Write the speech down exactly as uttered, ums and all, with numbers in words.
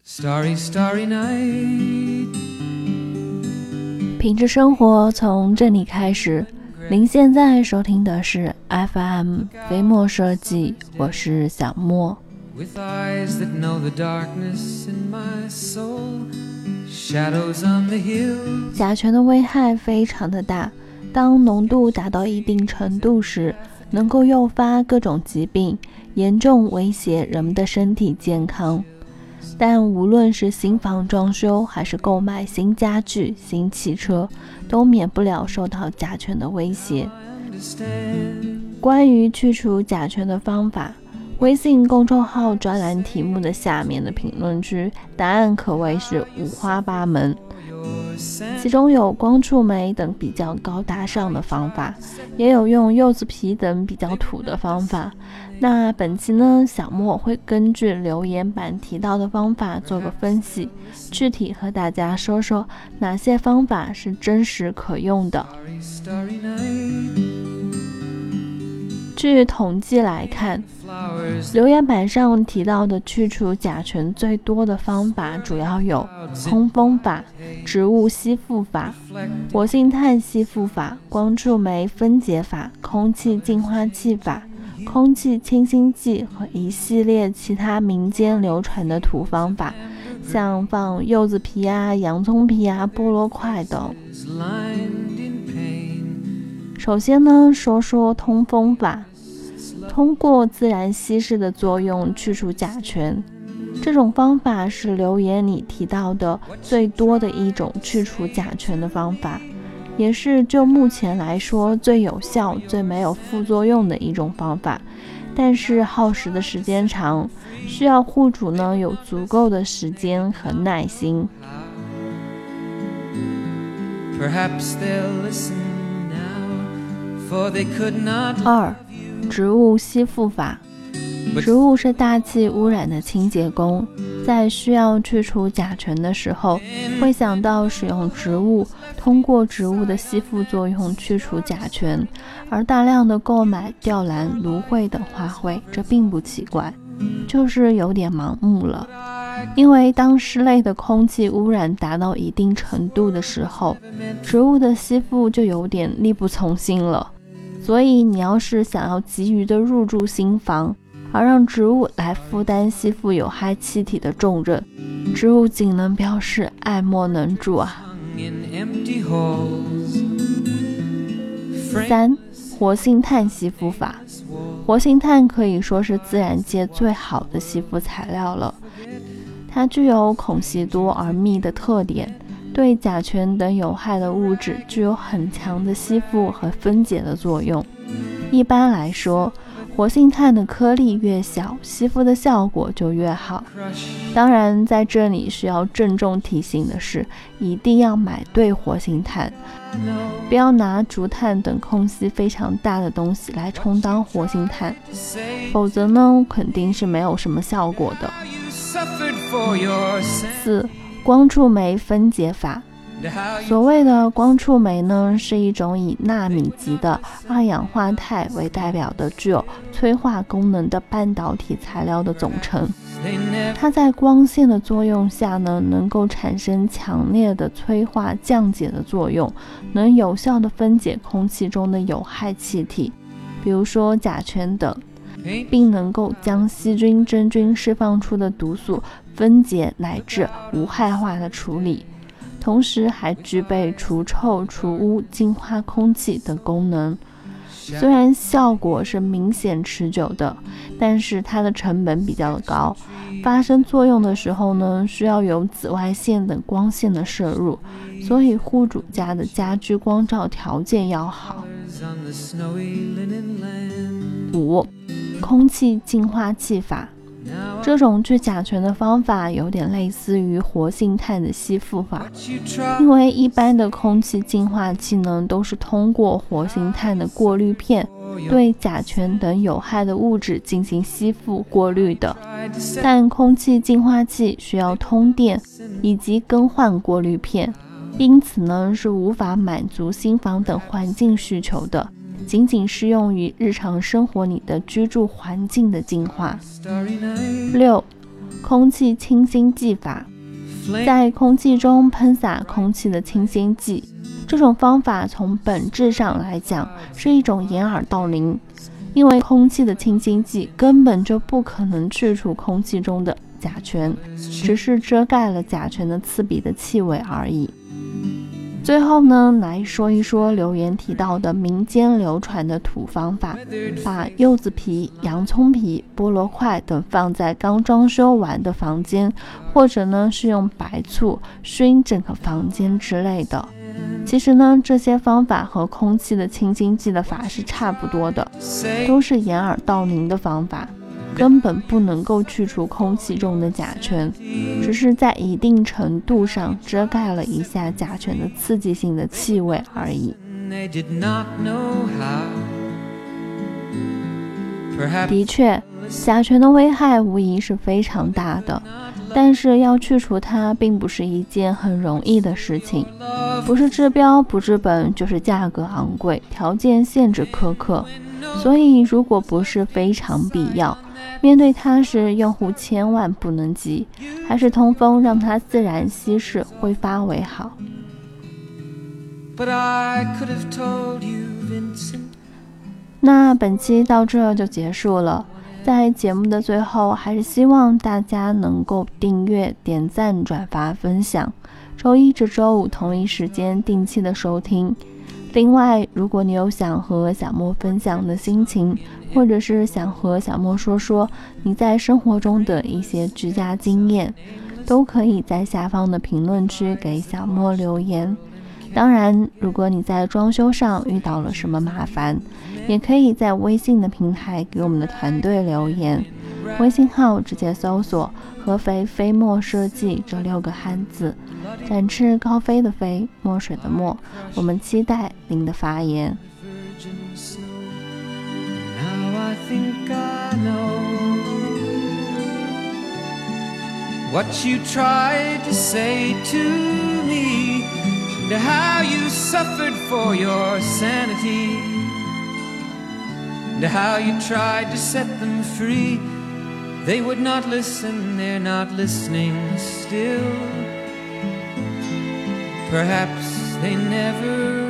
Starry, starry night。 品质生活从这里开始。您现在收听的是 F M 飞墨设计，我是小莫。 With eyes that know the darkness in my soul, shadows on the hill。 甲醛的危害非常的大，当浓度达到一定程度时，能够诱发各种疾病，严重威胁人们的身体健康。但无论是新房装修还是购买新家具、新汽车，都免不了受到甲醛的威胁。关于去除甲醛的方法，微信公众号专栏题目的下面的评论区，答案可谓是五花八门。其中有光触媒等比较高大上的方法，也有用柚子皮等比较土的方法。那本期呢，小莫会根据留言板提到的方法做个分析，具体和大家说说哪些方法是真实可用的。据统计来看，留言板上提到的去除甲醛最多的方法主要有通风法、植物吸附法、活性炭吸附法、光触媒分解法、空气净化器法、空气清新剂和一系列其他民间流传的土方法，像放柚子皮啊、洋葱皮啊、菠萝块等。首先呢，说说通风法。通过自然稀释的作用去除甲醛，这种方法是留言里提到的最多的一种去除甲醛的方法，也是就目前来说最有效、最没有副作用的一种方法。但是耗时的时间长，需要户主呢有足够的时间和耐心。二、植物吸附法。植物是大气污染的清洁工，在需要去除甲醛的时候，会想到使用植物，通过植物的吸附作用去除甲醛，而大量的购买吊兰、芦荟等花卉，这并不奇怪，就是有点盲目了。因为当室内的空气污染达到一定程度的时候，植物的吸附就有点力不从心了。所以你要是想要急于的入住新房，而让植物来负担吸附有害气体的重任，植物仅能表示爱莫能助啊。三、活性炭吸附法。活性炭可以说是自然界最好的吸附材料了，它具有孔隙多而密的特点，对甲醛等有害的物质具有很强的吸附和分解的作用。一般来说，活性炭的颗粒越小，吸附的效果就越好。当然，在这里需要郑重提醒的是，一定要买对活性炭，不要拿竹炭等空隙非常大的东西来充当活性炭，否则呢，肯定是没有什么效果的。四、光触媒分解法。所谓的光触媒呢，是一种以纳米级的二氧化钛为代表的具有催化功能的半导体材料的总称。它在光线的作用下呢，能够产生强烈的催化降解的作用，能有效的分解空气中的有害气体，比如说甲醛等，并能够将细菌、真菌释放出的毒素分解乃至无害化的处理，同时还具备除臭、除污、净化空气等功能。虽然效果是明显持久的，但是它的成本比较高，发生作用的时候呢，需要有紫外线等光线的摄入，所以户主家的家居光照条件要好。五、空气净化器法。这种去甲醛的方法有点类似于活性炭的吸附法，因为一般的空气净化器呢，都是通过活性炭的过滤片对甲醛等有害的物质进行吸附过滤的，但空气净化器需要通电以及更换过滤片，因此呢，是无法满足新房等环境需求的，仅仅适用于日常生活里的居住环境的净化。六、 空气清新剂法，在空气中喷洒空气的清新剂。这种方法从本质上来讲是一种掩耳盗铃，因为空气的清新剂根本就不可能去除空气中的甲醛，只是遮盖了甲醛的刺鼻的气味而已。最后呢，来说一说留言提到的民间流传的土方法，把柚子皮、洋葱皮、菠萝块等放在刚装修完的房间，或者呢是用白醋熏整个房间之类的。其实呢，这些方法和空气的清新剂的法是差不多的，都是掩耳盗铃的方法，根本不能够去除空气中的甲醛，只是在一定程度上遮盖了一下甲醛的刺激性的气味而已。的确，甲醛的危害无疑是非常大的，但是要去除它并不是一件很容易的事情，不是治标不治本，就是价格昂贵，条件限制苛刻。所以如果不是非常必要，面对它时用户千万不能急，还是通风让它自然稀释挥发为好。 But I could have told you, Vincent. 那本期到这就结束了，在节目的最后还是希望大家能够订阅、点赞、转发、分享，周一至周五同一时间定期的收听。另外，如果你有想和小莫分享的心情，或者是想和小莫说说你在生活中的一些居家经验，都可以在下方的评论区给小莫留言。当然，如果你在装修上遇到了什么麻烦，也可以在微信的平台给我们的团队留言，微信号直接搜索合肥飞墨设计这六个汉字，展翅高飞的飞，墨水的墨，我们期待您的发言。 Now I think I know what you tried to say to me, and how you suffered for your sanity, and how you tried to set them free. They would not listen, they're not listening still. Perhaps they never